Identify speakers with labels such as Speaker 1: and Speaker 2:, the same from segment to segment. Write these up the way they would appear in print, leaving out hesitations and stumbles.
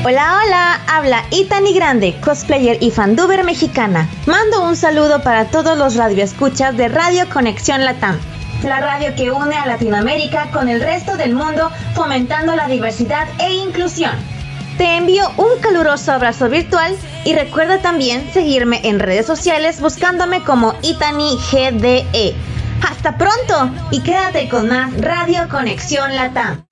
Speaker 1: Hola, hola, habla Itani Grande, cosplayer y fanduber mexicana. Mando un saludo para todos los radioescuchas de Radio Conexión Latam, la radio que une a Latinoamérica con el resto del mundo, fomentando la diversidad e inclusión. Te envío un caluroso abrazo virtual y recuerda también seguirme en redes sociales buscándome como Itani GDE. ¡Hasta pronto! Y quédate con más Radio Conexión Latam.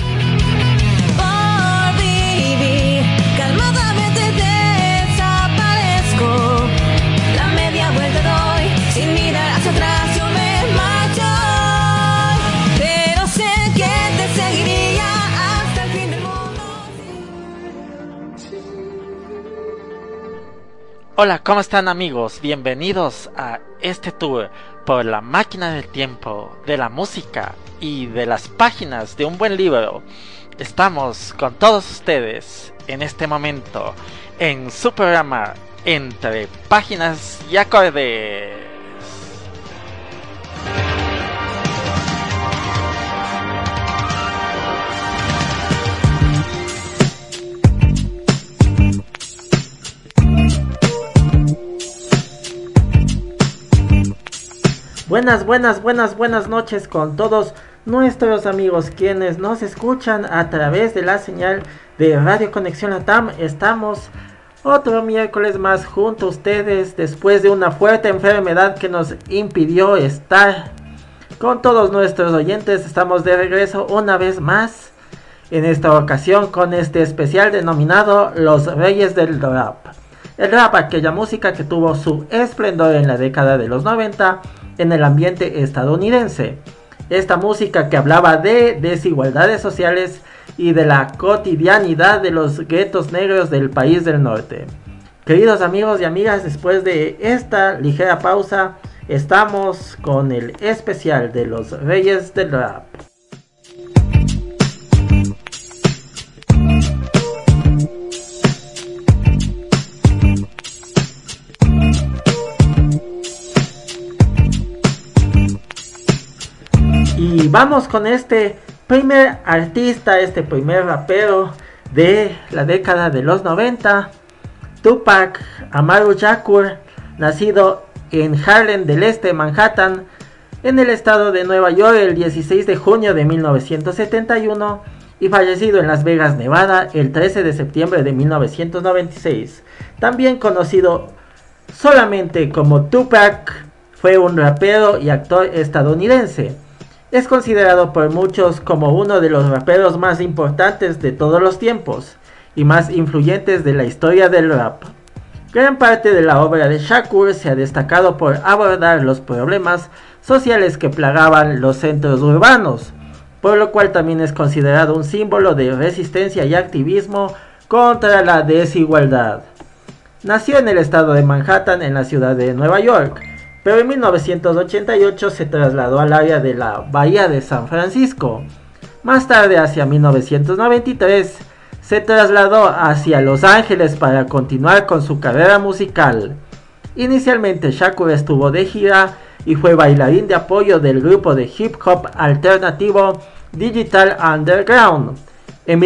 Speaker 2: Hola, ¿cómo están amigos? Bienvenidos a este tour por la máquina del tiempo, de la música y de las páginas de un buen libro. Estamos con todos ustedes en este momento en su programa Entre Páginas y Acordes. Buenas noches con todos nuestros amigos quienes nos escuchan a través de la señal de Radio Conexión Latam. Estamos otro miércoles más junto a ustedes después de una fuerte enfermedad que nos impidió estar con todos nuestros oyentes. Estamos de regreso una vez más, en esta ocasión con este especial denominado Los Reyes del Rap. El rap, aquella música que tuvo su esplendor en la década de los 90 en el ambiente estadounidense. Esta música que hablaba de desigualdades sociales y de la cotidianidad de los guetos negros del país del norte. Queridos amigos y amigas, después de esta ligera pausa, estamos con el especial de los Reyes del Rap. Y vamos con este primer artista, este primer rapero de la década de los 90, Tupac Amaru Shakur, nacido en Harlem del Este, Manhattan, en el estado de Nueva York el 16 de junio de 1971 y fallecido en Las Vegas, Nevada, el 13 de septiembre de 1996. También conocido solamente como Tupac, fue un rapero y actor estadounidense. Es considerado por muchos como uno de los raperos más importantes de todos los tiempos y más influyentes de la historia del rap. Gran parte de la obra de Shakur se ha destacado por abordar los problemas sociales que plagaban los centros urbanos, por lo cual también es considerado un símbolo de resistencia y activismo contra la desigualdad. Nació en el estado de Manhattan, en la ciudad de Nueva York, pero en 1988 se trasladó al área de la Bahía de San Francisco. Más tarde, hacia 1993, se trasladó hacia Los Ángeles para continuar con su carrera musical. Inicialmente Shakur estuvo de gira y fue bailarín de apoyo del grupo de hip hop alternativo Digital Underground. En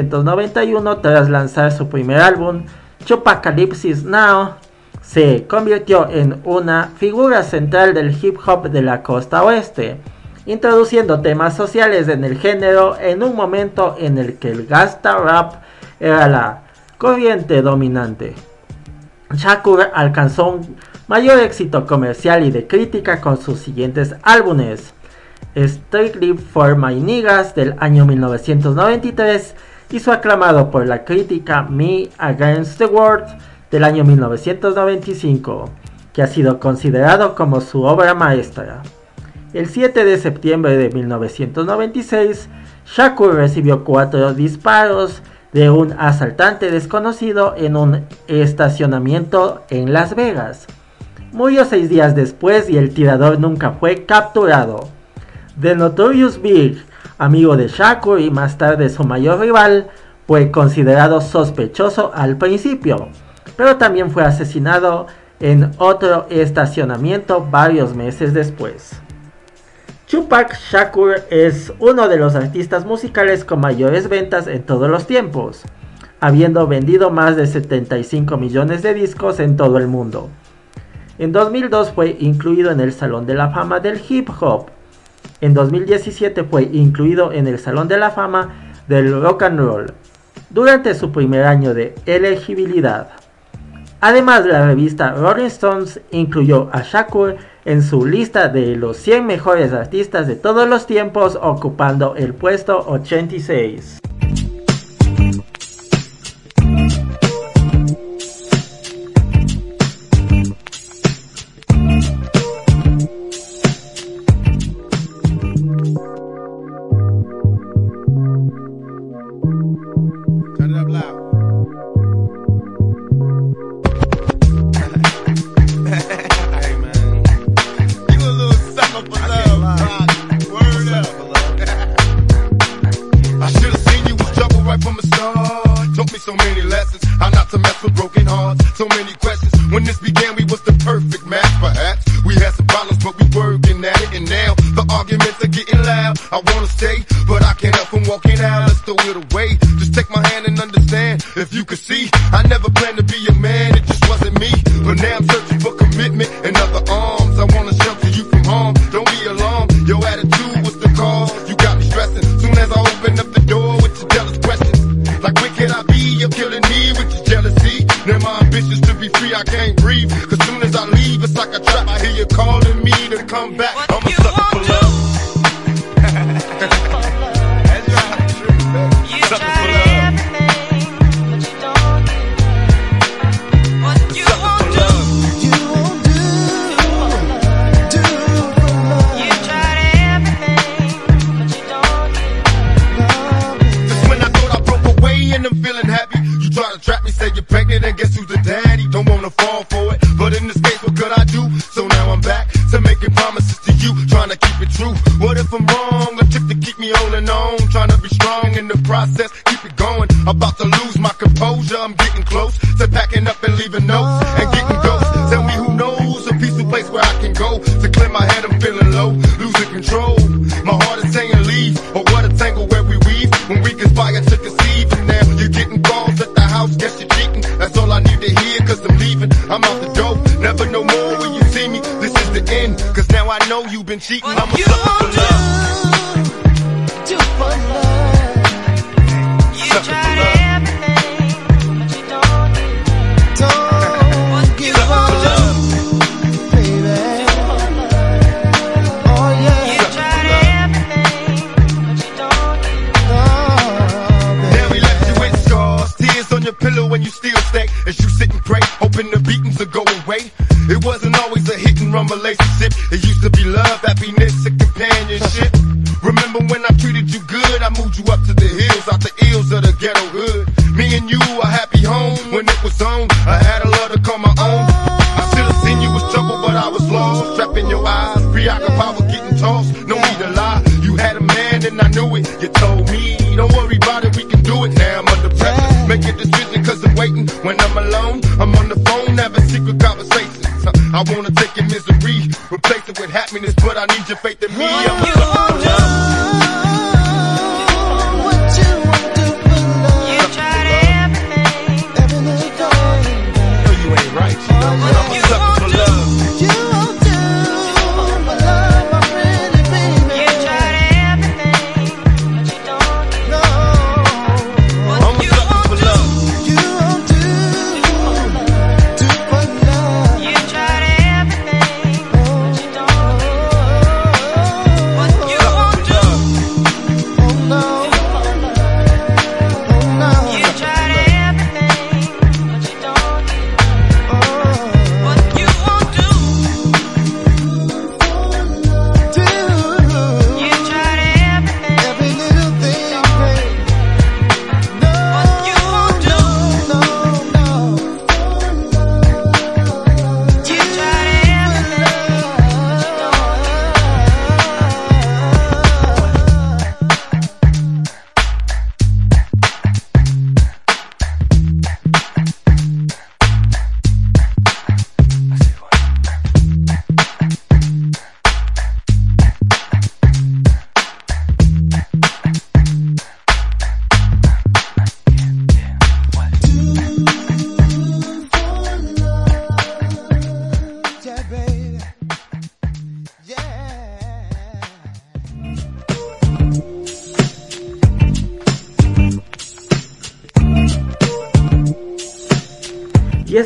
Speaker 2: 1991, tras lanzar su primer álbum, Chupacalypse Now, se convirtió en una figura central del hip hop de la costa oeste, introduciendo temas sociales en el género en un momento en el que el gangsta rap era la corriente dominante. Shakur alcanzó un mayor éxito comercial y de crítica con sus siguientes álbumes: Strictly for My Niggas del año 1993 y su aclamado por la crítica Me Against the World del año 1995, que ha sido considerado como su obra maestra. El 7 de septiembre de 1996, Shakur recibió 4 disparos de un asaltante desconocido en un estacionamiento en Las Vegas. Murió 6 días después y el tirador nunca fue capturado. The Notorious Big, amigo de Shakur y más tarde su mayor rival, fue considerado sospechoso al principio, pero también fue asesinado en otro estacionamiento varios meses después. Tupac Shakur es uno de los artistas musicales con mayores ventas en todos los tiempos. habiendo vendido más de 75 millones de discos en todo el mundo. En 2002 fue incluido en el Salón de la Fama del Hip Hop. En 2017 fue incluido en el Salón de la Fama del Rock and Roll, durante su primer año de elegibilidad. Además, la revista Rolling Stones incluyó a Shakur en su lista de los 100 mejores artistas de todos los tiempos, ocupando el puesto 86.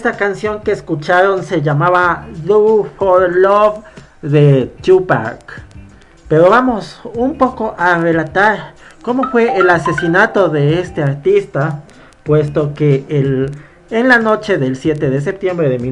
Speaker 2: Esta canción que escucharon se llamaba Do for Love de Tupac. Pero vamos un poco a relatar cómo fue el asesinato de este artista, puesto que en la noche del 7 de septiembre de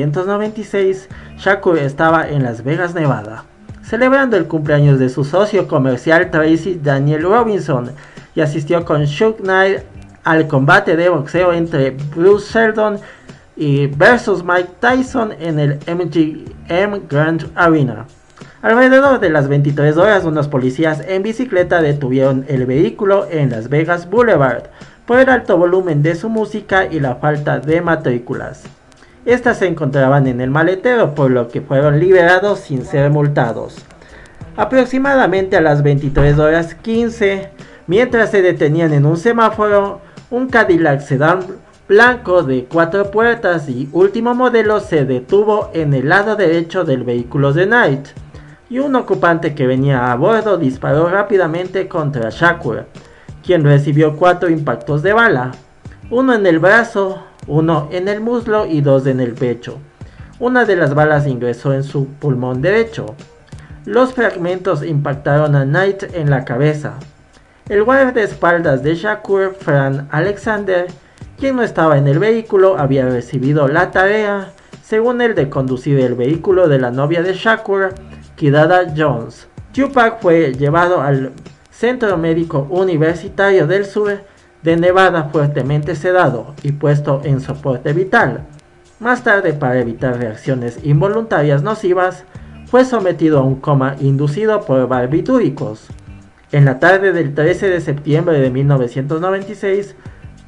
Speaker 2: 1996, Shakur estaba en Las Vegas, Nevada, celebrando el cumpleaños de su socio comercial Tracy Daniel Robinson, y asistió con Suge Knight al combate de boxeo entre Bruce Seldon y versus Mike Tyson en el MGM Grand Arena. Alrededor de las 23 horas, unos policías en bicicleta detuvieron el vehículo en Las Vegas Boulevard por el alto volumen de su música y la falta de matrículas. Estas se encontraban en el maletero, por lo que fueron liberados sin ser multados. Aproximadamente a las 23 horas 15, mientras se detenían en un semáforo, un Cadillac sedán blanco de 4 puertas y último modelo se detuvo en el lado derecho del vehículo de Knight, y un ocupante que venía a bordo disparó rápidamente contra Shakur, quien recibió 4 impactos de bala, uno en el brazo, uno en el muslo y 2 en el pecho. Una de las balas ingresó en su pulmón derecho. Los fragmentos impactaron a Knight en la cabeza. El guardaespaldas de Shakur, Fran Alexander, quien no estaba en el vehículo, había recibido la tarea, según él, de conducir el vehículo de la novia de Shakur, Kidada Jones. Tupac fue llevado al Centro Médico Universitario del Sur de Nevada fuertemente sedado y puesto en soporte vital. Más tarde, para evitar reacciones involuntarias nocivas, fue sometido a un coma inducido por barbitúricos. En la tarde del 13 de septiembre de 1996,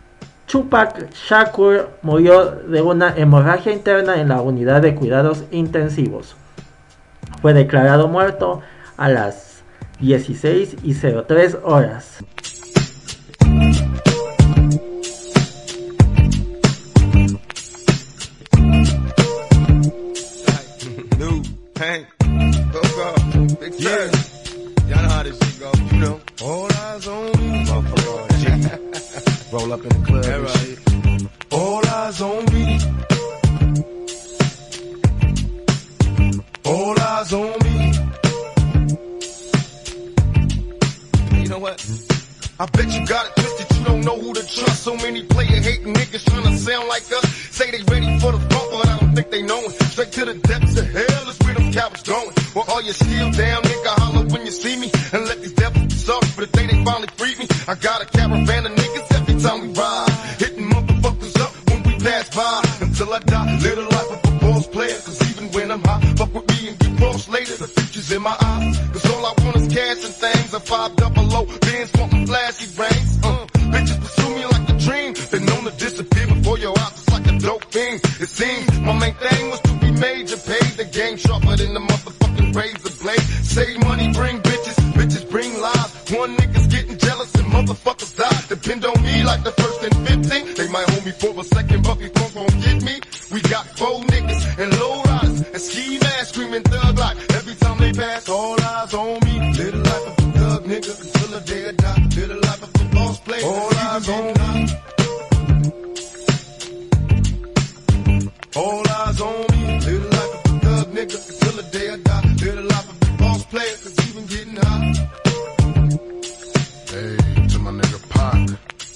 Speaker 2: Tupac Shakur murió de una hemorragia interna en la unidad de cuidados intensivos. Fue declarado muerto a las 16:03 horas.
Speaker 3: Roll up in the club and shit. All eyes on me. All eyes on me. You know what? I bet you got it twisted, you don't know who to trust. So many player hating niggas tryna sound like us. Say they ready for the bump, but I don't think they know it. Straight to the depths of hell is where them cowards going. Well, all you still down, nigga, holler when you see me. And let these devils be sorry for the day they finally free me. I got a caravan of niggas every time we ride. Hitting motherfuckers up when we pass by. Until I die, live the life of a boss player. Cause even when I'm high, fuck with me and get lost later. The future's in my eyes. Cause all I want is cash and things. A 500 bands wanting flashy rings. Bitches pursue me like a dream. Been known to disappear before your eyes. It's like a dope thing. It seems my main thing was to be major. Paid the game sharper than the motherfucking razor blade. Save money, bring bitches. Bitches bring lies. One nigga's getting jealous and motherfuckers die. Depend on me like the first and 15. They might hold me for a second, but before gon' get me. We got 4 niggas and low riders and ski masks screaming thug like every time they pass. All eyes on me. Live the life of a thug nigga until the day I die. Live the life of a boss player. All eyes on me. All eyes on me. Live the life of a thug nigga until the day I die. Live the life of a boss player, cause even getting high. Hey, to my nigga Pac.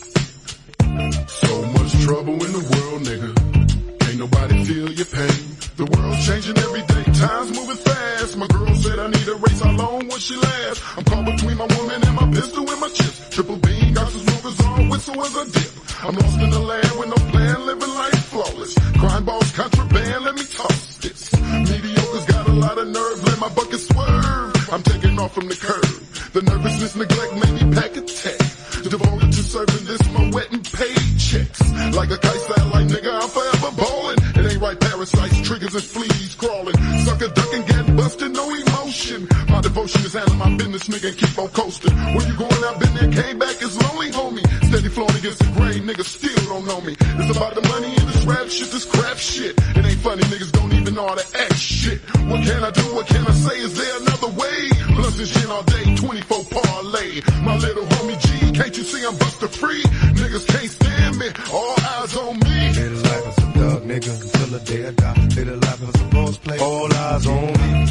Speaker 3: So much trouble in the world, nigga. Ain't nobody feel your pain. The world's changing every day, time's moving fast. My girl said I need a race, how long will she last? I'm caught between my woman and my pistol and my chips. Triple beam, got some smokers on, whistle as a dip. I'm lost in the land with no plan, living life flawless. Crime balls, contraband, let me toss this. Mediocre's got a lot of nerve, let my bucket swerve. I'm taking off from the curb. The nervousness, neglect, made me pack a tech. Devoted to serving this, my wet and paid checks. Like a kite satellite, nigga, I'm forever ballin'. It ain't right, parasites, triggers and fleas crawling. Sucker ducking, getting busted, no emotion. motion. My devotion is handling my business, nigga, and keep on coasting. Where you going? I've been there, came back, it's lonely, homie. Steady flowing against the grain, niggas still don't know me. It's about the money and this rap shit, this crap shit. It ain't funny, niggas don't even know how to act shit. What can I do? What can I say? Is there another way? Plus this shit all day, 24 parlay. My little homie G, can't you see I'm buster free? Niggas can't stand me, all eyes on me.
Speaker 4: Live life as a thug, nigga, until the day I die. Live life as a boss play, all eyes on me.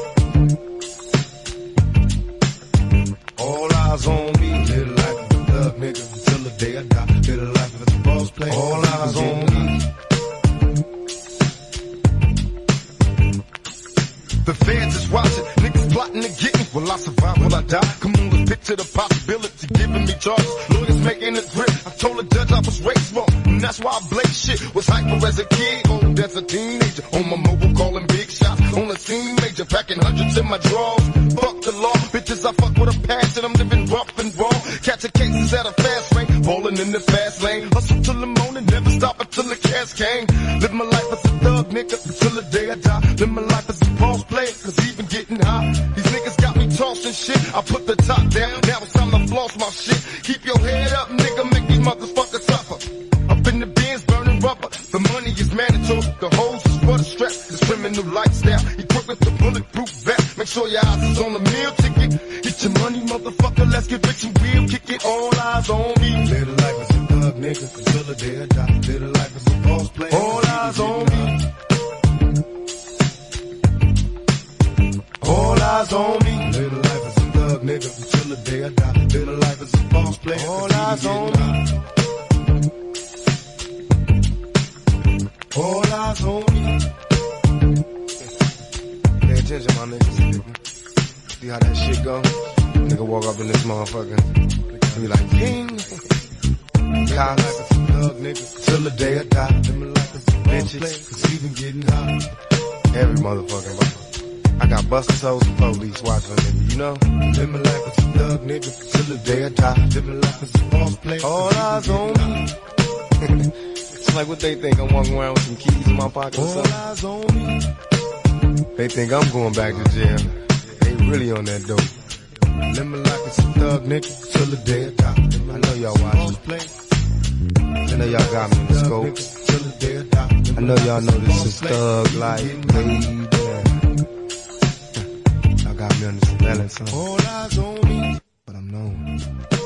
Speaker 4: All eyes on me. Live life as a thug, nigga, until the day I die. Live life as a boss play, all eyes on me.
Speaker 3: The fans is watching, niggas plotting to get me. Will I survive? Will I die? Come on, let's picture the possibility, giving me charges. Lawyers making it grip. I told the judge I was raised wrong, and that's why I blaze shit. Was hyper as a kid, old as a teenager. On my mobile, calling big shots. On the scene major, packing hundreds in my drawers. Fuck the law, bitches, I fuck with a passion. I'm living rough and raw. Catching cases at a fast rate, falling in the fast lane. Hustle till the morning, never stop until the cash came. Live my life as a thug, nigga, until the day I die. Live my life as a boss player, cause even getting high. These niggas got me tossing shit. I put the top down, now it's time to floss my shit. Keep your head up, nigga, make these motherfuckers suffer. Up in the bins, burning rubber. The money is mandatory, the hoes is for the strap. This criminal lifestyle, equipped with the bulletproof vest. Make sure your eyes is on the meal ticket. Get your money, motherfucker, let's get rich and real. Kick it, all eyes on me.
Speaker 4: Live life as a thug, nigga, until the day I die. Live life as a boss play,
Speaker 3: All eyes on me.
Speaker 4: all eyes on me. Live life as a thug, nigga, until the day I die. Live life as a boss play, all eyes on me. All eyes on me. Pay attention, my niggas. See how that shit go? Nigga walk up in this motherfucker and be like, ping. Live life as a thug, nigga, till the day I die. Live life as a bitches, cause even getting high. Every motherfucking motherfucker. I got busters, hoes, and police watching a nigga, you know? Live my life as a thug, nigga, till the day I die. Live my life as a boss play, all eyes on me. It's like what they think, I'm walking around with some keys in my pocket or something. All eyes on me. They think I'm going back to jail. They really on that dope. Live my life as a thug, nigga, till the day I die. I know y'all watching. I know y'all got me in the scope. I know y'all know this is thug life, baby. Got me on the surveillance, son. All eyes on me, but I'm known.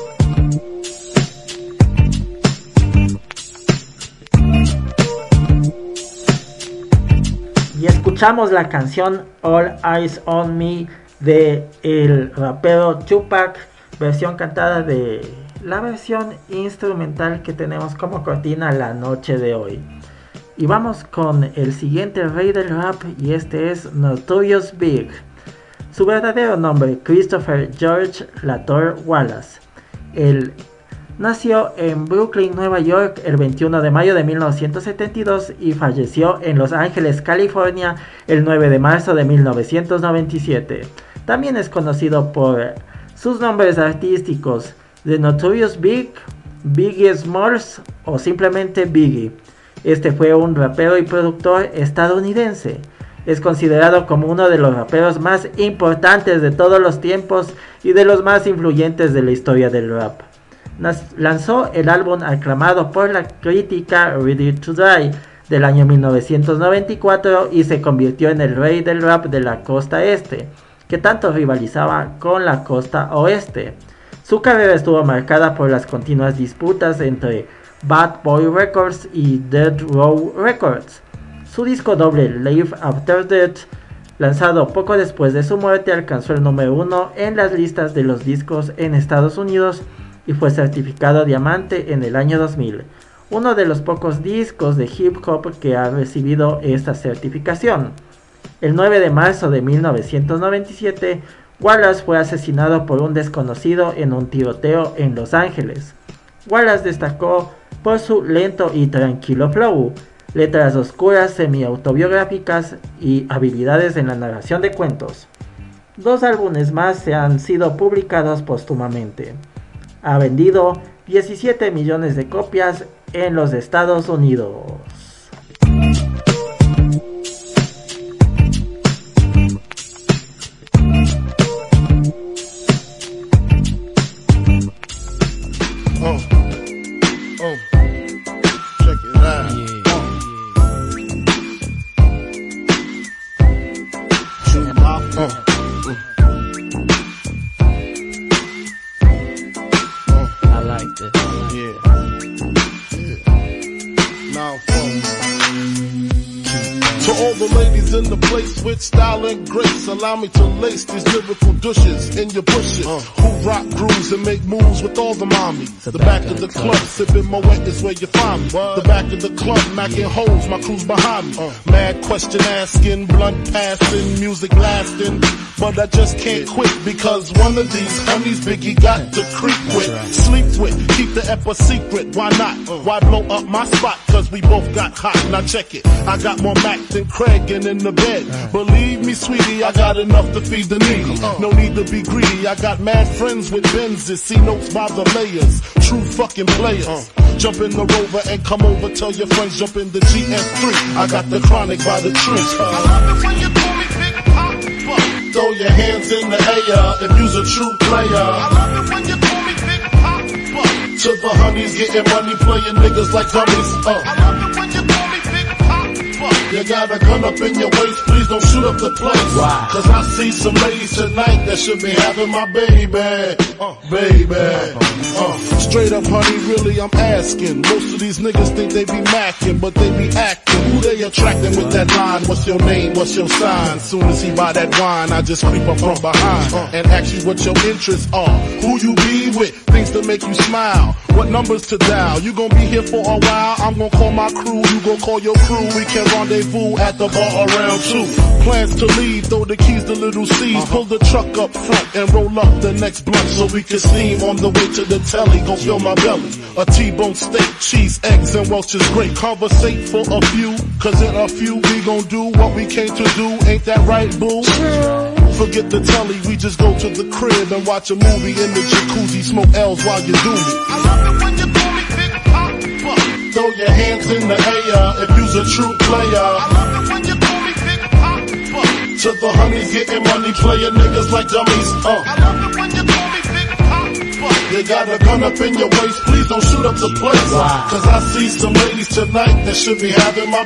Speaker 2: Y escuchamos la canción All Eyes on Me de el rapero Tupac, versión cantada de la versión instrumental que tenemos como cortina la noche de hoy. Y vamos con el siguiente rey del rap, y este es Notorious Big. Su verdadero nombre, Christopher George Lator Wallace. Él nació en Brooklyn, Nueva York, el 21 de mayo de 1972 y falleció en Los Ángeles, California, el 9 de marzo de 1997. También es conocido por sus nombres artísticos The Notorious Big, Biggie Smalls o simplemente Biggie. Este fue un rapero y productor estadounidense. Es considerado como uno de los raperos más importantes de todos los tiempos y de los más influyentes de la historia del rap. Lanzó el álbum aclamado por la crítica Ready to Die del año 1994 y se convirtió en el rey del rap de la costa este, que tanto rivalizaba con la costa oeste. Su carrera estuvo marcada por las continuas disputas entre Bad Boy Records y Death Row Records. Su disco doble Live After Death, lanzado poco después de su muerte, alcanzó el número 1 en las listas de los discos en Estados Unidos y fue certificado diamante en el año 2000, uno de los pocos discos de hip hop que ha recibido esta certificación. El 9 de marzo de 1997, Wallace fue asesinado por un desconocido en un tiroteo en Los Ángeles. Wallace destacó por su lento y tranquilo flow, letras oscuras semi-autobiográficas y habilidades en la narración de cuentos. 2 álbumes más se han sido publicados póstumamente. Ha vendido 17 millones de copias en los Estados Unidos.
Speaker 5: with style and grace. Allow me to lace these lyrical douches in your bushes. Who rock grooves and make moves with all the mommies. The back of the club, sipping Moet is where you find me. The back of the club, knocking holes, my crew's behind me. Mad question asking, blunt passing, music blasting. But I just can't quit because one of these homies Biggie got to creep with, sleep with, keep the ep a secret. Why not? Why blow up my spot? Cause we both got hot. Now check it. I got more Mac than Craig and in the bed. Believe me, sweetie, I got enough to feed the needy. No need to be greedy. I got mad friends with Benzes. See notes by the layers. True fucking players. Jump in the Rover and come over. Tell your friends jump in the GS3. I got the chronic by the tree. I love it when you call me Big Papa. Throw your hands in the air if you's a true player. I love it when you call me Big Papa. To the honeys getting money, playing niggas like dummies. I love it when you call me Big Papa. You got a gun up in your waist, please don't shoot up the place. Why? Cause I see some ladies tonight that should be having my baby. Straight up, honey, really I'm asking. Most of these niggas think they be macking, but they be acting. Who they attracting with that line? What's your name? What's your sign? Soon as he buy that wine, I just creep up from behind and ask you what your interests are. Who you be with? Things to make you smile. What numbers to dial? You gon' be here for a while. I'm gon' call my crew. You gon' call your crew. We can rendezvous at the bar around 2. Plans to leave. Throw the keys to little C's. Pull the truck up front and roll up the next blunt so we can steam on the way to the telly. Gon' fill my belly. A T-bone steak, cheese, eggs, and Welch's grape. Conversate for a few, cause in a few we gon' do what we came to do. Ain't that right, boo? Forget the telly, we just go to the crib and watch a movie in the jacuzzi. Smoke L's while you do me. I love it when you call me Big Papa. Throw your hands in the air if you's a true player. I love it when you call me Big Papa. To the honeys getting money, playing niggas like dummies. I love it when you call me Big Papa. You got a gun up in your waist, please don't shoot up the place. Wow. Cause I see some ladies tonight that should be having my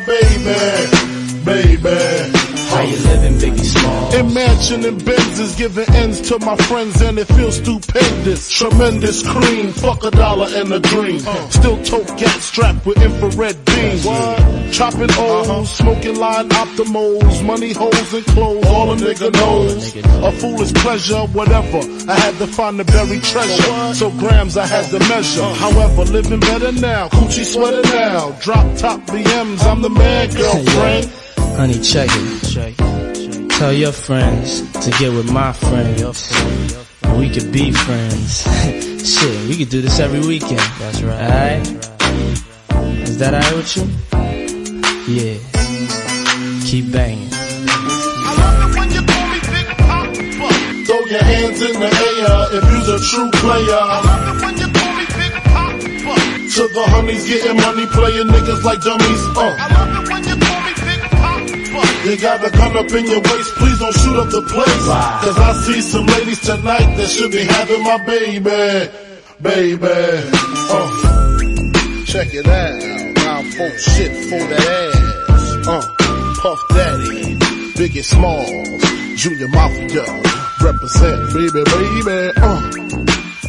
Speaker 5: baby.
Speaker 6: How you living, Biggie Small?
Speaker 5: In mansion and Benzes, giving ends to my friends and it feels stupendous. Tremendous cream, fuck $1 and a dream. Still tote gat strapped with infrared beams. Chopping O's, smoking line optimals, money holes and clothes, all a nigga knows. A foolish pleasure, whatever. I had to find the buried treasure, so grams I had to measure. However, living better now, coochie sweater now. Drop top BMs, I'm the man, girlfriend.
Speaker 6: Honey, check it. Tell your friends to get with my friends. And we could be friends. Shit, we could do this every weekend. That's right. Alright? Is that alright with you? Yeah. Keep banging.
Speaker 5: I love it when you call me Big Papa. Throw your hands in the air if you's a true player. I love it when you call me Big Papa. To the honeys getting money, playing niggas like dummies. I love it when you call me Big Papa. You got a gun up in your waist, please don't shoot up the place. Wow. Cause I see some ladies tonight that should be having my baby. Check it out, now folk shit for that ass. Puff Daddy, Biggie Smalls, Junior Mafia, represent baby.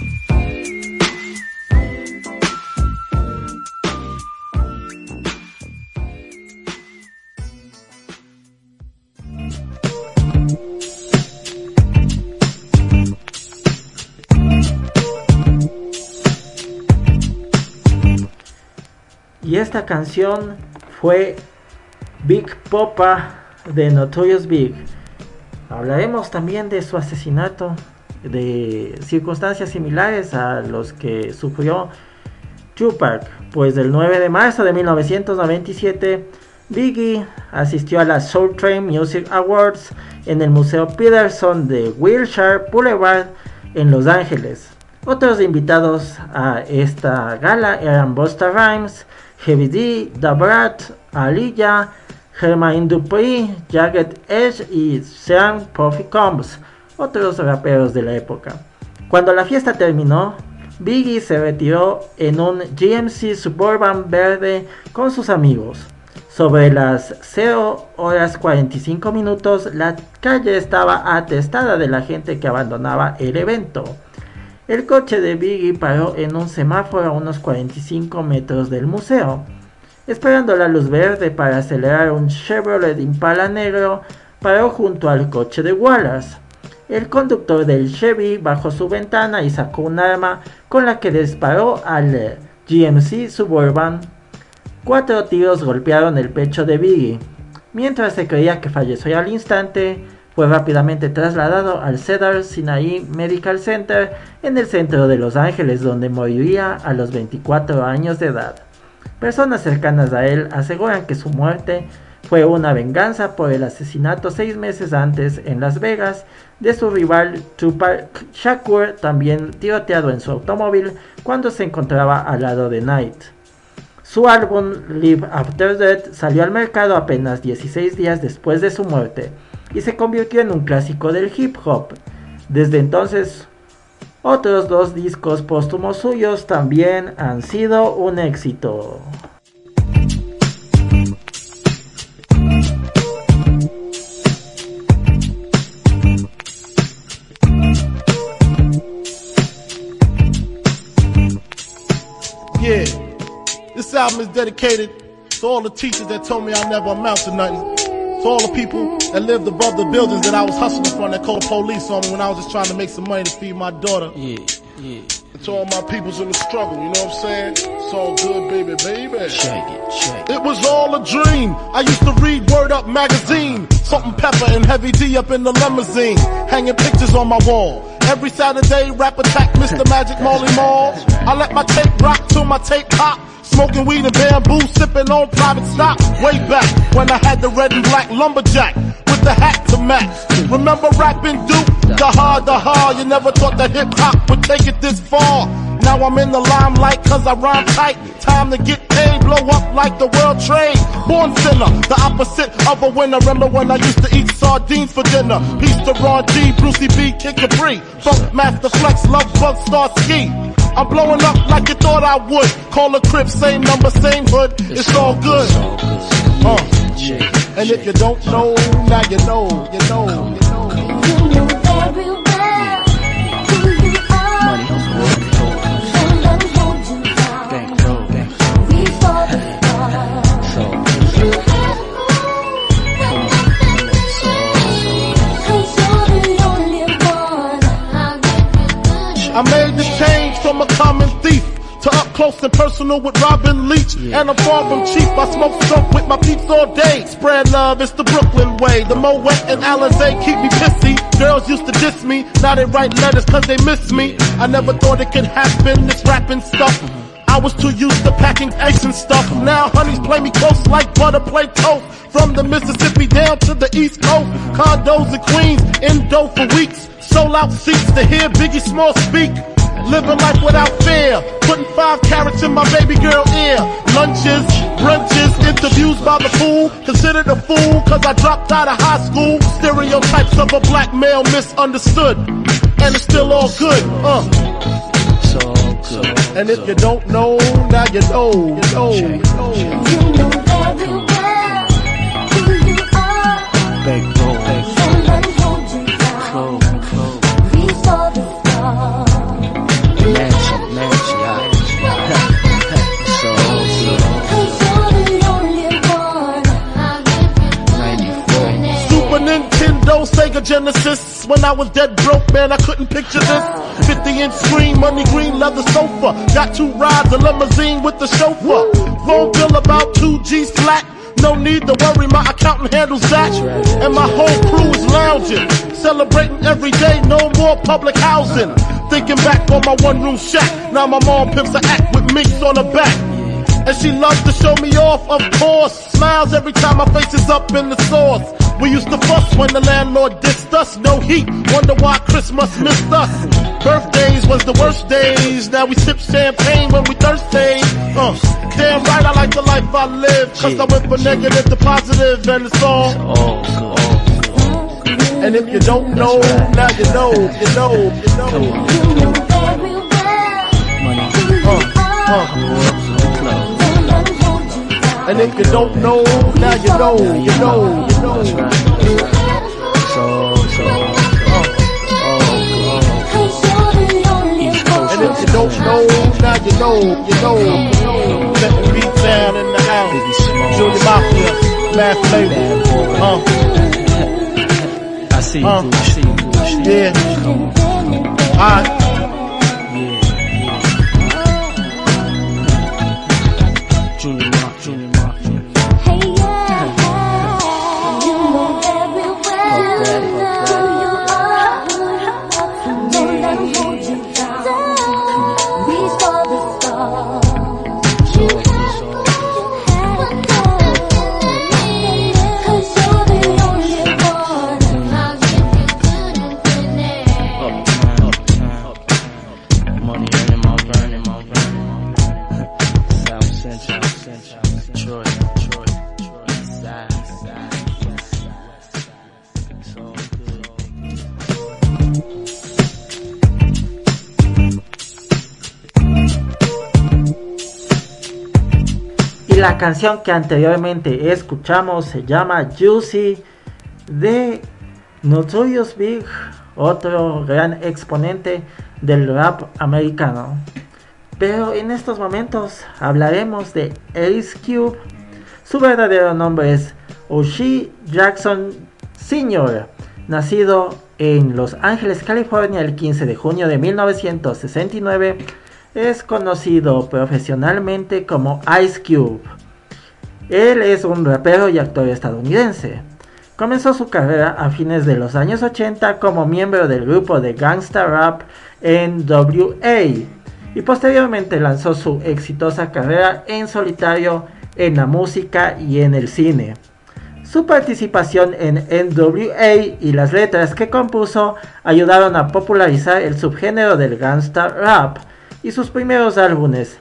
Speaker 2: Y esta canción fue Big Poppa de Notorious Big. Hablaremos también de su asesinato, de circunstancias similares a los que sufrió Tupac. Pues el 9 de marzo de 1997, Biggie asistió a la Soul Train Music Awards en el Museo Peterson de Wilshire Boulevard en Los Ángeles. Otros invitados a esta gala eran Busta Rhymes, Heavy D, Da Brat, Aaliyah, Jermaine Dupri, Jagged Edge y Sean Puffy Combs, otros raperos de la época. Cuando la fiesta terminó, Biggie se retiró en un GMC Suburban verde con sus amigos. Sobre las 0:45, la calle estaba atestada de la gente que abandonaba el evento. El coche de Biggie paró en un semáforo a unos 45 metros del museo, esperando la luz verde para acelerar un Chevrolet Impala negro paró junto al coche de Wallace. El conductor del Chevy bajó su ventana y sacó un arma con la que disparó al GMC Suburban. 4 tiros golpearon el pecho de Biggie. Mientras se creía que falleció al instante, fue rápidamente trasladado al Cedar Sinai Medical Center en el centro de Los Ángeles, donde moriría a los 24 años de edad. Personas cercanas a él aseguran que su muerte fue una venganza por el asesinato 6 meses antes en Las Vegas de su rival Tupac Shakur, también tiroteado en su automóvil cuando se encontraba al lado de Knight. Su álbum Live After Death salió al mercado apenas 16 días después de su muerte y se convirtió en un clásico del hip hop. Desde entonces, otros 2 discos póstumos suyos también han sido un éxito.
Speaker 5: Yeah, this album is dedicated to all the teachers that told me I never amount to nothing. To all the people that lived above the buildings that I was hustling from that called the police on me when I was just trying to make some money to feed my daughter.
Speaker 6: Yeah.
Speaker 5: And to all my peoples in the struggle, you know what I'm saying? It's all good, baby.
Speaker 6: Shake it.
Speaker 5: It was all a dream. I used to read Word Up magazine. Salt-N-Pepa and Heavy D up in the limousine. Hanging pictures on my wall. Every Saturday, Rap Attack, Mr. Magic, Marley Marl. I let my tape rock till my tape pop. Smoking weed and bamboo, sipping on private stock. Way back when I had the red and black lumberjack with the hat to match. Remember rapping Duke? The hard. You never thought that hip hop would take it this far. Now I'm in the limelight cause I rhyme tight. Time to get paid, blow up like the world trade. Born sinner, the opposite of a winner. Remember when I used to eat sardines for dinner? Peace to Ron G, Brucey B, Kid Capri, Funk Master Flex, Love Bug, Star Ski. I'm blowing up like you thought I would. Call a crib, same number, same hood. It's all good. And if you don't know, now you know.
Speaker 7: You know very well who you are.
Speaker 6: Money,
Speaker 7: Don't let 'em hold you down. Reach for the stars. You have to move. You're the only one. I'll give you good.
Speaker 5: I made the change from a common thief to up close and personal with Robin Leach. And I'm far from cheap, I smoke skunk with my peeps all day. Spread love, it's the Brooklyn way. The Moet and Alizé keep me pissy. Girls used to diss me, now they write letters cause they miss me. I never thought it could happen, this rapping stuff. I was too used to packing ice and stuff. Now honeys play me close like butter play toast. From the Mississippi down to the East Coast. Condos in Queens, indo for weeks. Sold out seats to hear Biggie Small speak. Living life without fear, putting 5 carats in my baby girl ear. Lunches, brunches, interviews by the pool. Considered a fool cause I dropped out of high school. Stereotypes of a black male misunderstood. And it's still all good,
Speaker 6: It's all good.
Speaker 5: And if you don't know, now you know.
Speaker 7: You know very well who you are. Don't let 'em hold you down. Reach for the stars.
Speaker 5: Super Nintendo, Sega Genesis. When I was dead broke, man, I couldn't picture this. 50-inch screen, money green leather sofa. Got 2 rides, a limousine with the chauffeur. Phone bill about 2 G's flat. No need to worry, my accountant handles that. And my whole crew is lounging, celebrating every day, no more public housing. Thinking back on my one-room shack, now my mom pimps a act with minks on her back. And she loves to show me off, of course. Smiles every time my face is up in the sauce. We used to fuss when the landlord dissed us. No heat, wonder why Christmas missed us. Birthdays was the worst days. Now we sip champagne when we thirsty. Damn right I like the life I live. Cause I went from negative to positive and it's all good. And if you don't know, now you know.
Speaker 7: You know very well who you are.
Speaker 5: And if you don't know, now you know. And if you don't know, now you know. Let the beat down in the house. Junior Mafia, Math Flavor.
Speaker 6: see you through, see you through.
Speaker 5: Yeah.
Speaker 6: Come on.
Speaker 5: Alright.
Speaker 6: Junior Mark.
Speaker 7: Hey, yeah. You know very well who you are. Don't let 'em hold you down. Reach for the stars. You had to go. 'Cause you're the only one. How if you couldn't finish.
Speaker 6: Uptown. Money earning, my burning. South Central. Detroit. Side. It's all good.
Speaker 2: Y la canción que anteriormente escuchamos se llama Juicy de Notorious Big, otro gran exponente del rap americano. Pero en estos momentos hablaremos de Ice Cube. Su verdadero nombre es O'Shea Jackson Sr., nacido en Los Ángeles, California, el 15 de junio de 1969. Es conocido profesionalmente como Ice Cube. Él es un rapero y actor estadounidense. Comenzó su carrera a fines de los años 80 como miembro del grupo de gangsta rap NWA y posteriormente lanzó su exitosa carrera en solitario en la música y en el cine. Su participación en NWA y las letras que compuso ayudaron a popularizar el subgénero del gangsta rap, y sus primeros álbumes,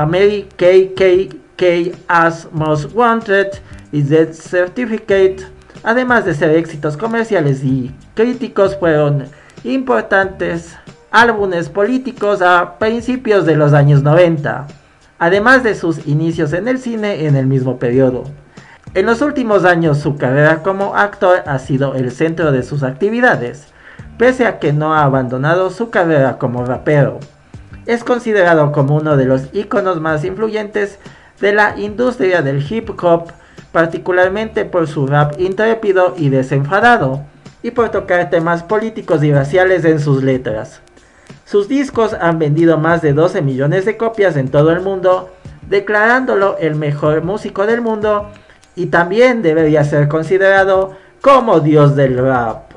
Speaker 2: America's Most Wanted y Death Certificate, además de ser éxitos comerciales y críticos, fueron importantes álbumes políticos a principios de los años 90, además de sus inicios en el cine en el mismo periodo. En los últimos años su carrera como actor ha sido el centro de sus actividades, pese a que no ha abandonado su carrera como rapero. Es considerado como uno de los íconos más influyentes de la industria del hip hop, particularmente por su rap intrépido y desenfadado, y por tocar temas políticos y raciales en sus letras. Sus discos han vendido más de 12 millones de copias en todo el mundo, declarándolo el mejor músico del mundo, y también debería ser considerado como Dios del rap.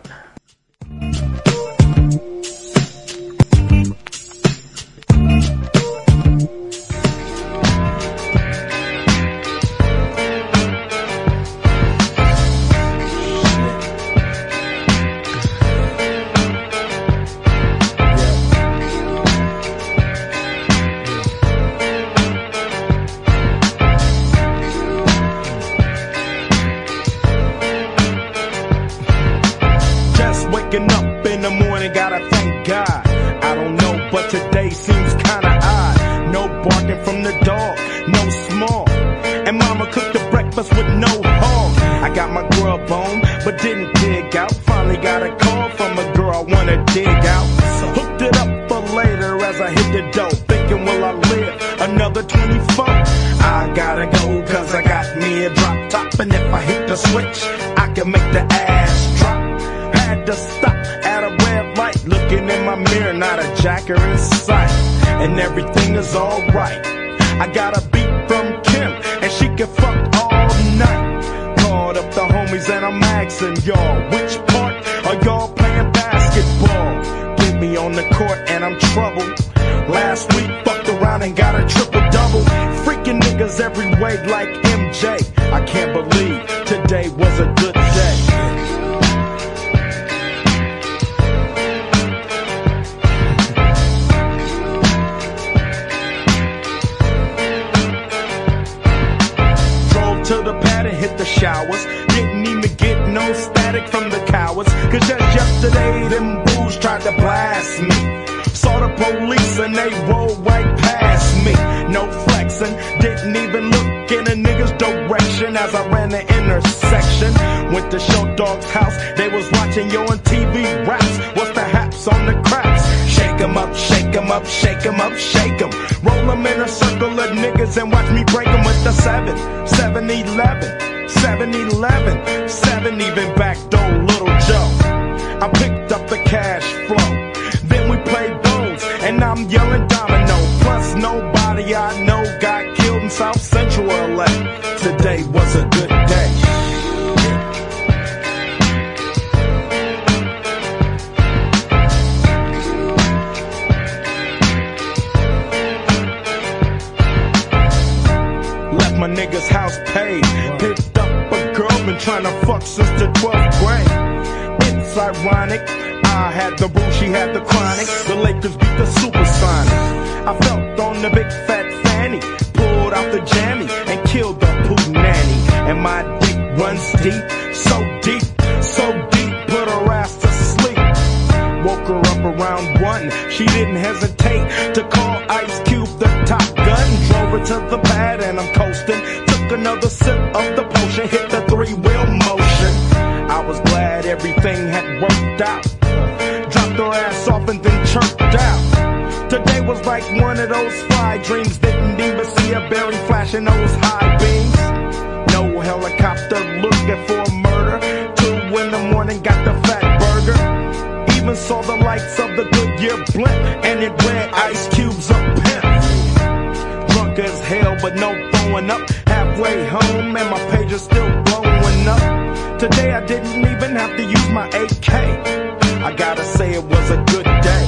Speaker 8: I picked up the cash flow. Then we played bones, and I'm yelling domino. Plus nobody I know got killed in South Central LA. Today was a good day. My nigga's house paid. Picked up a girl, been trying to fuck since the 12th grade. It's ironic, I had the boo, she had the chronic. The Lakers beat the Supersonics. I felt on the big fat fanny, pulled out the jammy and killed the poo nanny. And my dick runs deep, so deep, put her ass to sleep. Woke her up around 1, she didn't hesitate to call Ice Cube the Top Gun. Drove her to the pad and I'm coasting. Took another sip of the potion, hit the 3-wheel motion. I was glad everything had worked out. Dropped her ass off and then chirped out. Today was like one of those fly dreams. Didn't even see a berry flashing those high beams. No helicopter looking for a murder. 2 in the morning, got the fat burger. Even saw the lights of the Goodyear blimp, and it read Ice Cube's a pimp. Drunk as hell, but no throwing up. Halfway home, and my page is still blowing up. Today I didn't even have to use my AK. I gotta say it was a good day.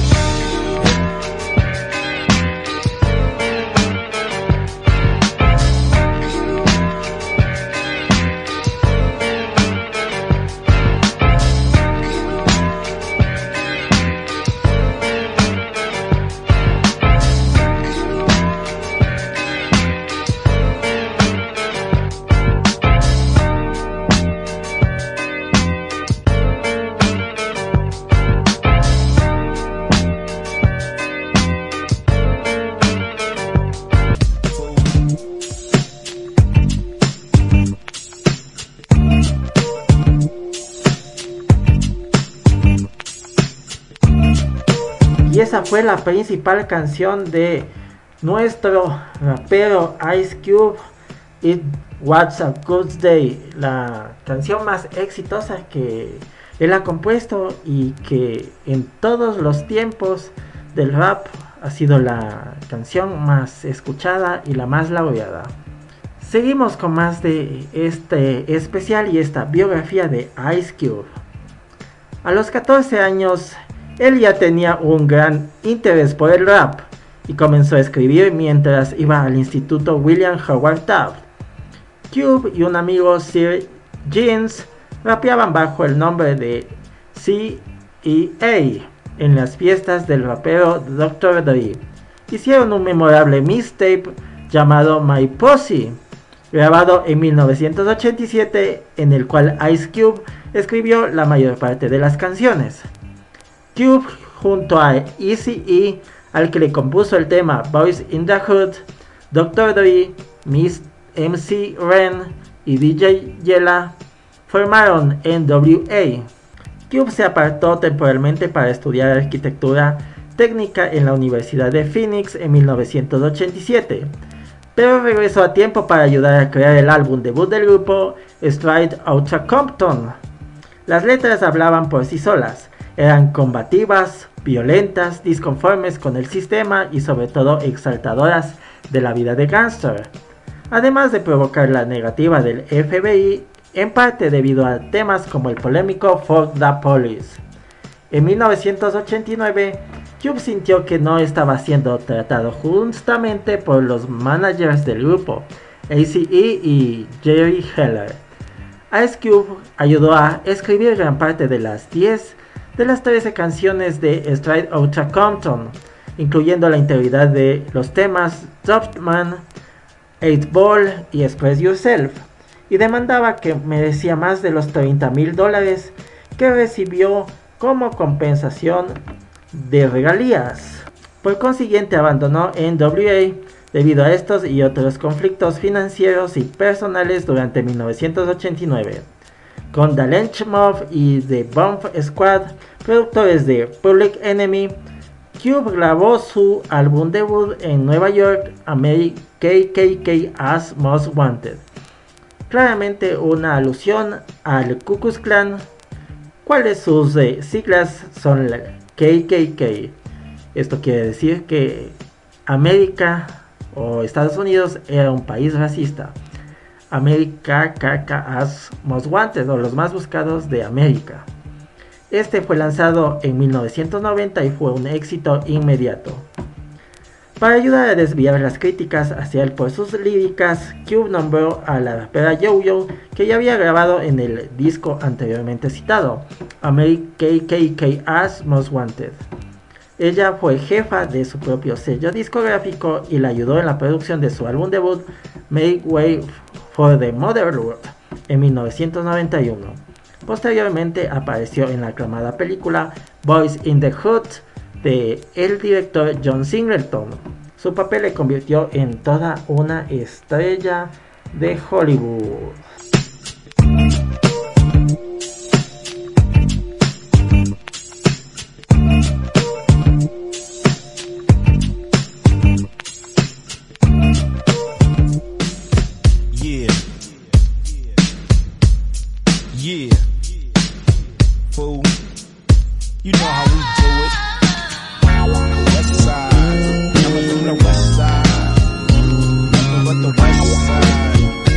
Speaker 2: Esa fue la principal canción de nuestro rapero Ice Cube, It Was a Good Day, la canción más exitosa que él ha compuesto y que en todos los tiempos del rap ha sido la canción más escuchada y la más laureada. Seguimos con más de este especial y esta biografía de Ice Cube. A los 14 años él ya tenía un gran interés por el rap y comenzó a escribir mientras iba al instituto William Howard Taft. Cube y un amigo Sir Jeans rapeaban bajo el nombre de C.E.A. en las fiestas del rapero Dr. Dre. Hicieron un memorable mixtape llamado My Posse, grabado en 1987, en el cual Ice Cube escribió la mayor parte de las canciones. Cube, junto a Eazy-E, al que le compuso el tema Boys in the Hood, Dr. Dre, Miss MC Ren y DJ Yella formaron NWA. Cube se apartó temporalmente para estudiar arquitectura técnica en la Universidad de Phoenix en 1987, pero regresó a tiempo para ayudar a crear el álbum debut del grupo, Straight Outta Compton. Las letras hablaban por sí solas. Eran combativas, violentas, disconformes con el sistema y sobre todo exaltadoras de la vida de gángster, además de provocar la negativa del FBI, en parte debido a temas como el polémico Fuck the Police. En 1989, Cube sintió que no estaba siendo tratado justamente por los managers del grupo, Eazy-E y Jerry Heller. Ice Cube ayudó a escribir gran parte de las 10 de las 13 canciones de Straight Outta Compton, incluyendo la integridad de los temas Dopman, 8 Ball y Express Yourself, y demandaba que merecía más de los $30,000 que recibió como compensación de regalías. Por consiguiente abandonó NWA debido a estos y otros conflictos financieros y personales durante 1989. Con The Lynch Mob y The Bomb Squad, productores de Public Enemy, Cube grabó su álbum debut en Nueva York, KKK as Most Wanted, claramente una alusión al Ku Klux Klan. cuales sus siglas son la KKK. Esto quiere decir que América o Estados Unidos era un país racista. America as Most Wanted, o los más buscados de América. Este fue lanzado en 1990 y fue un éxito inmediato. Para ayudar a desviar las críticas hacia él por sus líricas, Cube nombró a la rapera Yo-Yo, que ya había grabado en el disco anteriormente citado, America KKK as Most Wanted. Ella fue jefa de su propio sello discográfico y la ayudó en la producción de su álbum debut, Make Way for the Motherlode, en 1991. Posteriormente apareció en la aclamada película Boys in the Hood de el director John Singleton. Su papel le convirtió en toda una estrella de Hollywood.
Speaker 8: You know how we do it. West side, coming from the west side. Nothing but the west side.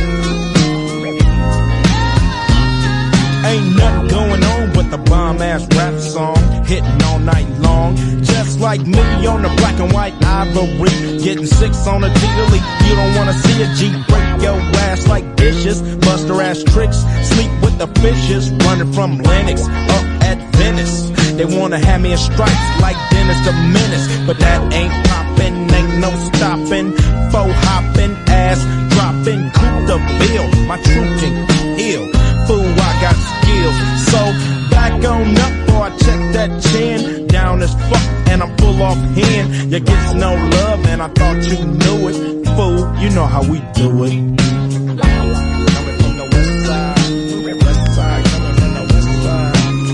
Speaker 8: Ain't nothing going on but the bomb ass rap song, hitting all night long. Just like me on the black and white ivory, getting 6 on a daily. You don't wanna see a G break your ass like dishes, bust her ass tricks, sleep with the fishes, running from Lennox up at Venice. They wanna have me in stripes like Dennis the Menace, but that ain't poppin', ain't no stoppin'. Faux hoppin', ass droppin', coup the bill. My truth can heal, fool, I got skills. So back on up, boy, check that chin. Down as fuck, and I'm full off hand. You get no love, and I thought you knew it. Fool, you know how we do it. Coming from the west side, coming from the west side.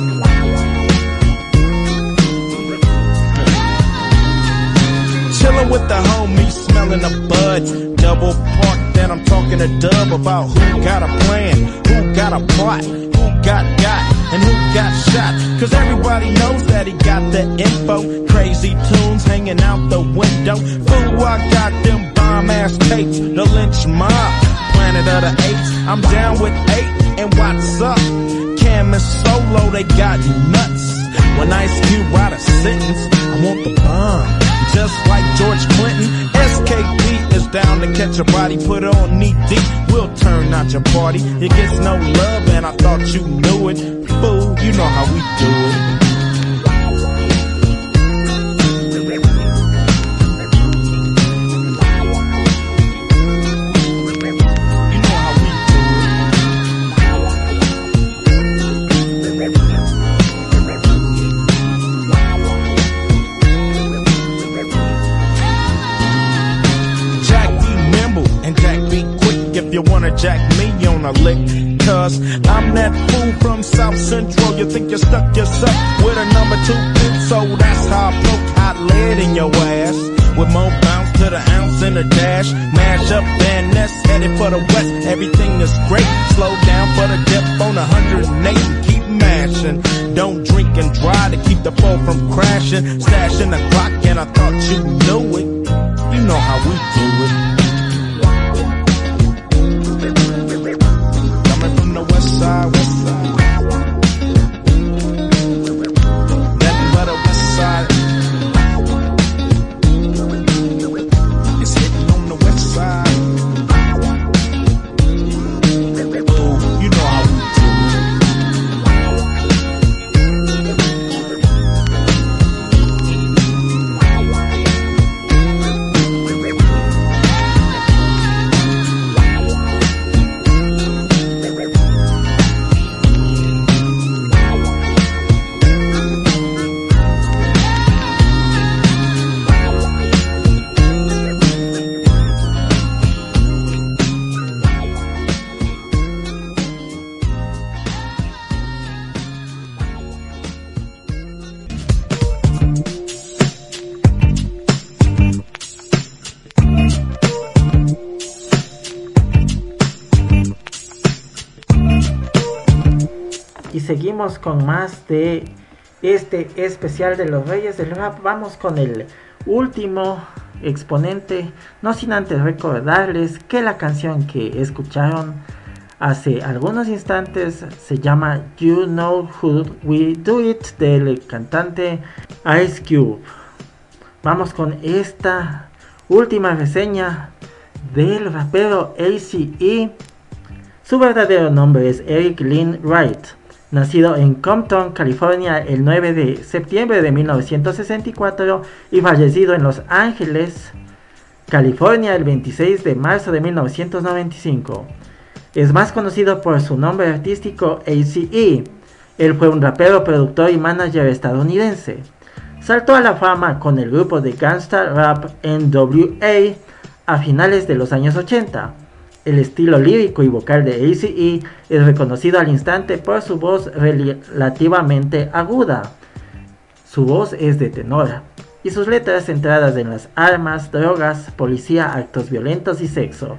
Speaker 8: Chillin' with the homies, smelling a bud. Double park, then I'm talking to Dub about who got a plan, who got a plot, who got, and who got shot. Cause everybody knows that he got the info. Crazy tunes hanging out the window. Fool, I got them bomb-ass tapes. The lynch mob, Planet of the Apes. I'm down with 8, and what's up? Cam and Solo, they got nuts. When Ice Cube write a sentence, I want the bomb. Just like George Clinton, SKP is down to catch a body, put on knee deep, we'll turn out your party. It gets no love and I thought you knew it. Fool, you know how we do it. You wanna jack me on a lick, cause I'm that fool from South Central. You think you stuck yourself with a number 2 pin, so that's how I poke hot lead in your ass. With more bounce to the ounce in the dash. Mash up Van Ness, headed for the west. Everything is great, slow down for the dip on 108 and keep mashing. Don't drink and drive to keep the foe from crashing. Stashing the clock and I thought you knew it. You know how we do it. West side, west side. Nothing but a west side. It's hitting on the west side. Ooh, you know how we do it.
Speaker 2: seguimos con más de este especial de los Reyes del Rap. Vamos con el último exponente, no sin antes recordarles que la canción que escucharon hace algunos instantes se llama You Know Who We Do It, del cantante Ice Cube. Vamos con esta última reseña del rapero ACE. Su verdadero nombre es Eric Lynn Wright, nacido en Compton, California, el 9 de septiembre de 1964 y fallecido en Los Ángeles, California, el 26 de marzo de 1995. Es más conocido por su nombre artístico ACE. Él fue un rapero, productor y manager estadounidense. Saltó a la fama con el grupo de gangsta rap NWA a finales de los años 80. El estilo lírico y vocal de ACE es reconocido al instante por su voz relativamente aguda. Su voz es de tenor y sus letras centradas en las armas, drogas, policía, actos violentos y sexo.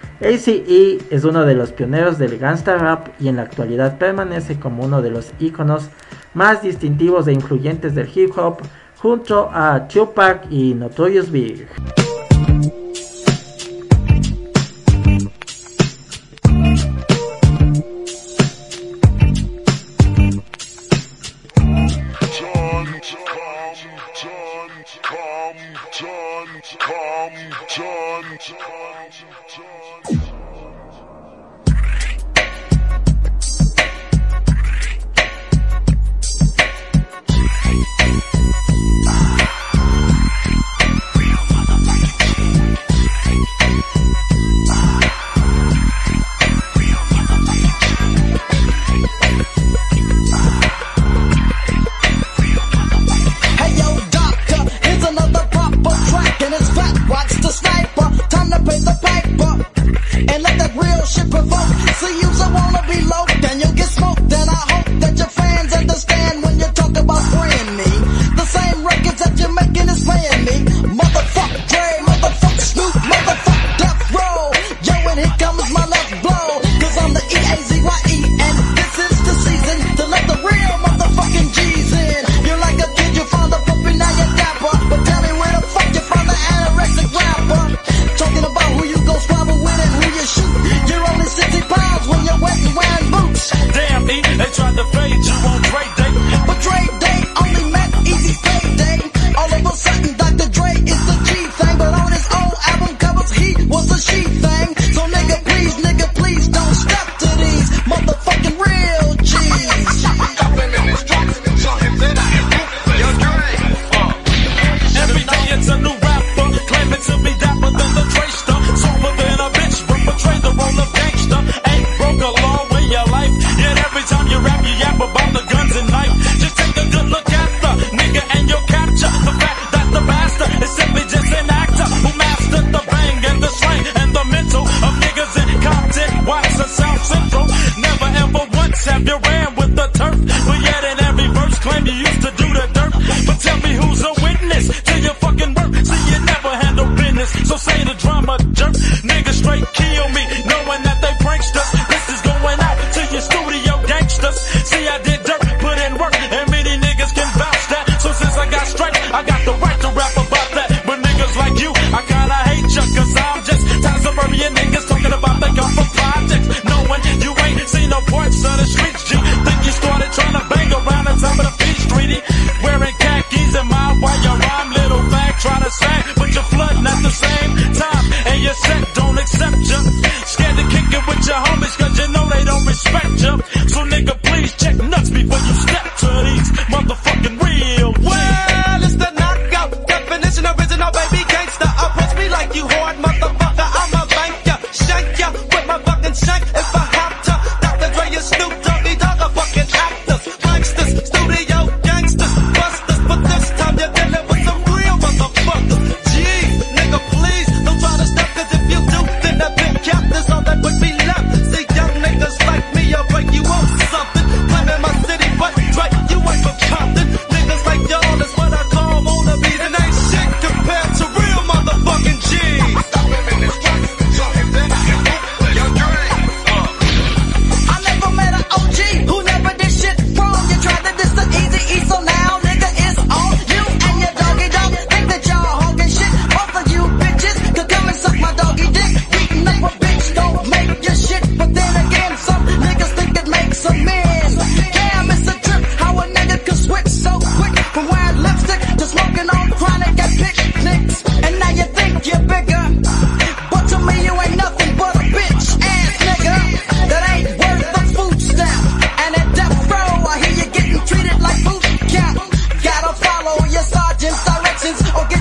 Speaker 2: ACE es uno de los pioneros del gangsta rap y en la actualidad permanece como uno de los íconos más distintivos e influyentes del hip hop junto a Tupac y Notorious Big.
Speaker 9: Damn,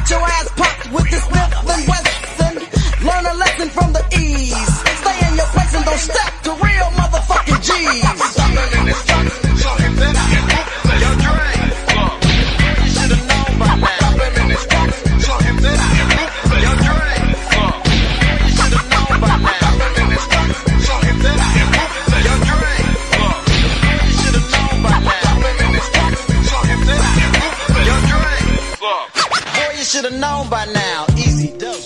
Speaker 9: your ass popped with this Smith and Wesson. Learn a lesson from the ease. Stay in your place and don't step to real motherfucking G's. Stopping in this truck, so hit that out. Yo, Dre, look, you should've known by now. Stopping in this truck, so hit that out. Yo, Dre, look, you should've known by now. Stopping in this truck, so hit that out. Yo, Dre, look, you should've known by now. Stopping in this truck, so hit that out. Yo, Dre, look, boy, you should've known by now. Easy does.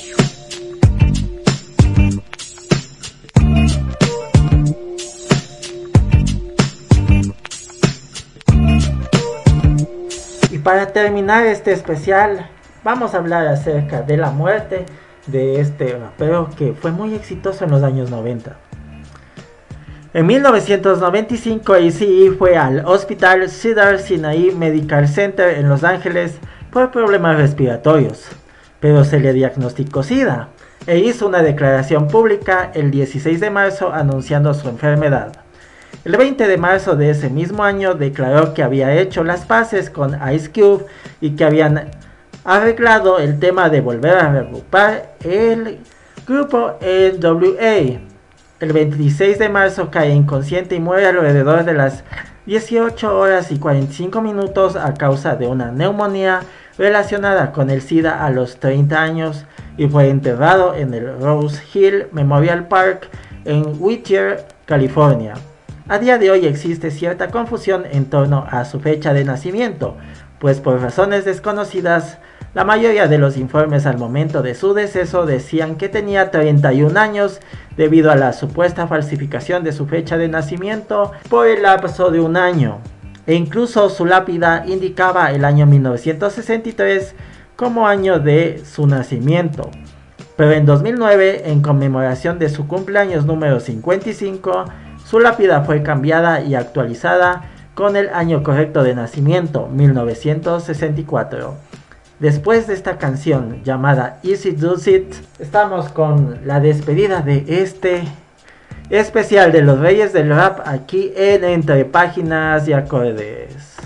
Speaker 2: Para terminar este especial, vamos a hablar acerca de la muerte de este rapero que fue muy exitoso en los años 90. En 1995, Eazy-E fue al Hospital Cedars-Sinai Medical Center en Los Ángeles por problemas respiratorios, pero se le diagnosticó SIDA e hizo una declaración pública el 16 de marzo anunciando su enfermedad. El 20 de marzo de ese mismo año declaró que había hecho las paces con Ice Cube y que habían arreglado el tema de volver a reagrupar el grupo NWA. El 26 de marzo cae inconsciente y muere alrededor de las 18 horas y 45 minutos a causa de una neumonía relacionada con el SIDA a los 30 años y fue enterrado en el Rose Hill Memorial Park en Whittier, California. A día de hoy existe cierta confusión en torno a su fecha de nacimiento, pues por razones desconocidas, la mayoría de los informes al momento de su deceso decían que tenía 31 años debido a la supuesta falsificación de su fecha de nacimiento por el lapso de un año, e incluso su lápida indicaba el año 1963 como año de su nacimiento. Pero en 2009, en conmemoración de su cumpleaños número 55, su lápida fue cambiada y actualizada con el año correcto de nacimiento, 1964. Después de esta canción llamada Easy Does It, estamos con la despedida de este especial de los Reyes del Rap aquí en Entre Páginas y Acordes.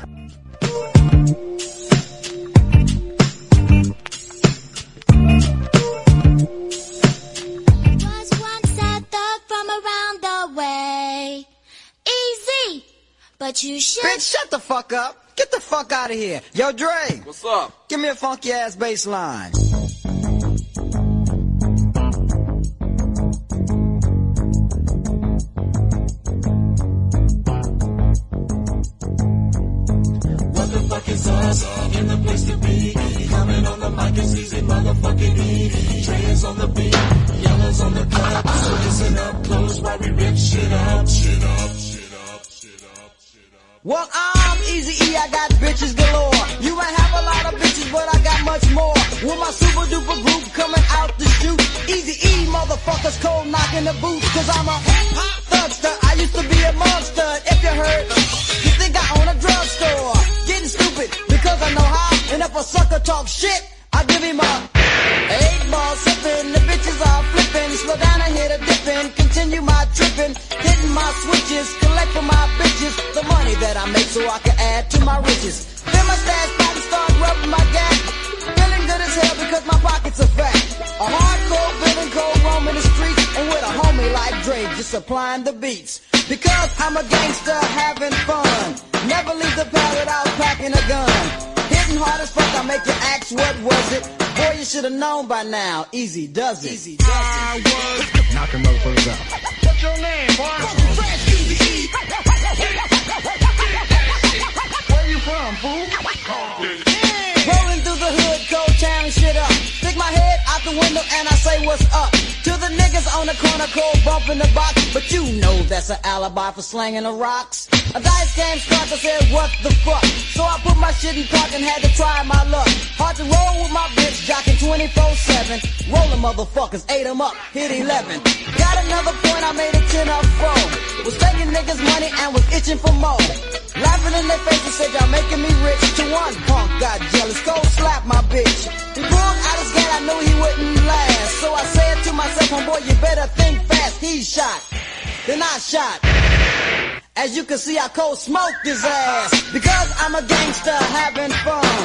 Speaker 7: But you should.
Speaker 9: Bitch, shut the fuck up. Get the fuck out of here. Yo, Dre.
Speaker 10: What's up?
Speaker 9: Give me a funky ass bass line.
Speaker 11: What the fuck is us? In the place to be. Coming on the mic is easy, motherfucking E. Trey is on the beat. Yellow's on the cut. So listen up close while we rip shit up. Shit up.
Speaker 9: Well, I'm Eazy-E, I got bitches galore. You might have a lot of bitches, but I got much more. With my super duper group coming out the chute. Eazy-E, motherfuckers cold knocking the boots. Cause I'm a hip-hop thugster, I used to be a monster. If you heard, you think I own a drugstore. Getting stupid, because I know how. And if a sucker talk shit, I give him a 8-ball sipping. The bitches are flipping. Slow down and hit a dipping. Continue my tripping. Hitting my switches. Collect for my bitches the money that I make so I can add to my riches. Fill my stash pot and start rubbing my gas. Feeling good as hell because my pockets are fat. A hardcore villain cold roaming the streets. And with a homie like Dre just supplying the beats. Because I'm a gangster having fun. Never leave the pad without packing a gun. Hitting hard as fuck, I make you ask what was it. Boy, you should've known by now. Easy does it. Easy does it.
Speaker 8: Knocking motherfuckers out.
Speaker 9: What's your name, boy? Fresh Eazy-E. Where you from, fool? Rolling through the hood, cold town shit up. Stick my head out the window and I say what's up. To the niggas on the corner, cold bumping the box. But you know that's an alibi for slanging the rocks. A dice game starts, I said what the fuck. So I put my shit in park and had to try my luck. Hard to roll with my bitch, jocking 24/7. Rolling motherfuckers, ate them up, hit 11. Got another point, I made it 10 up 4. Was taking niggas money and was itching for more. Laughing in their faces, said y'all making me rich. To one punk got jealous, go slap my bitch. He pulled out his gun, I knew he wouldn't last. So I said to myself, homeboy, you better think fast. He shot, then I shot. As you can see, I cold smoked his ass. Because I'm a gangster having fun.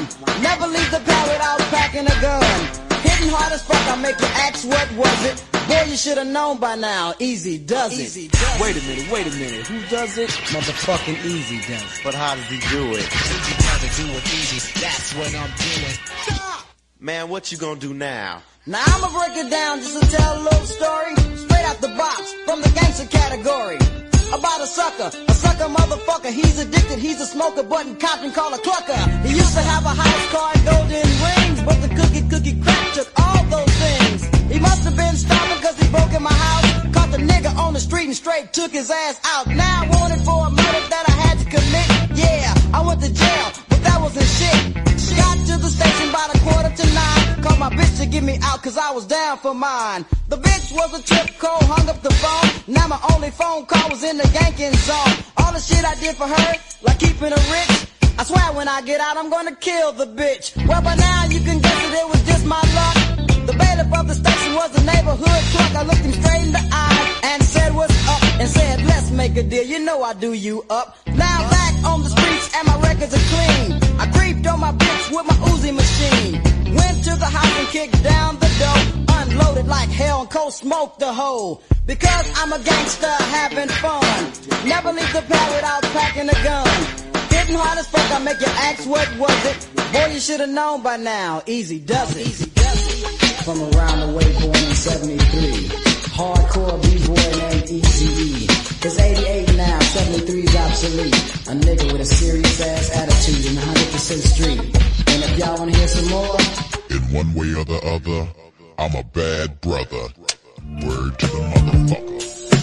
Speaker 9: run. Never leave the pad without packing a gun. Hitting hard as fuck, I make you ask what was it. Boy, you should have known by now. Easy does it.
Speaker 10: Wait a minute. Who does it? Motherfucking Easy does it.
Speaker 4: But how does he do it?
Speaker 10: Easy does it, do it easy. That's what I'm doing.
Speaker 9: Stop!
Speaker 4: Man, what you gonna do now?
Speaker 9: Now I'ma break it down just to tell a little story. Straight out the box, from the gangster category. About a sucker motherfucker. He's addicted, he's a smoker, but in Compton called a clucker. He used to have a house car and golden rings, but the cookie crack took all those things. He must have been starving cause he broke in my house. Caught the nigga on the street and straight took his ass out. Now wanted for a murder that I had to commit. Yeah, I went to jail, but that wasn't shit. Got to the station by the 8:45. Called my bitch to get me out cause I was down for mine. The bitch was a trip call, hung up the phone. Now my only phone call was in the yanking zone. All the shit I did for her, like keeping her rich. I swear when I get out I'm gonna kill the bitch. Well by now you can guess that it was just my luck. The bailiff of the station was a neighborhood clerk. I looked him straight in the eye and said what's up. And said let's make a deal, you know I do you up. Now back on the streets and my records are clean. I creeped on my bitch with my Uzi machine. Went to the house and kicked down the door. Unloaded like hell and cold smoked the hole. Because I'm a gangster having fun. Never leave the pad without packing a gun. Hitting hard as fuck, I make you ask what was it. Boy, you should have known by now. Easy does it. Easy does it.
Speaker 10: From around the way, born in 73. Hardcore B-boy named Eazy-E. It's 88 now, 73's obsolete. A nigga with a serious ass attitude in 100% street. And if y'all wanna hear some more,
Speaker 5: In one way or the other, I'm a bad brother. Word to the motherfucker.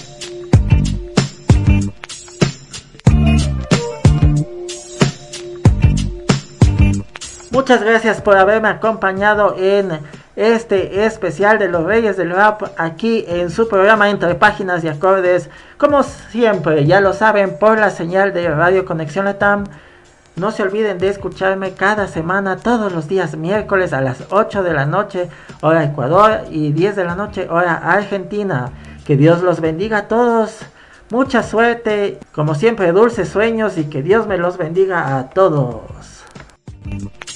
Speaker 2: Muchas gracias por haberme acompañado en este especial de los Reyes del Rap aquí en su programa Entre Páginas y Acordes. Como siempre, ya lo saben, por la señal de Radio Conexión Latam. No se olviden de escucharme cada semana, todos los días miércoles a las 8 de la noche, hora Ecuador, y 10 de la noche, hora Argentina. Que Dios los bendiga a todos. Mucha suerte, como siempre, dulces sueños y que Dios me los bendiga a todos.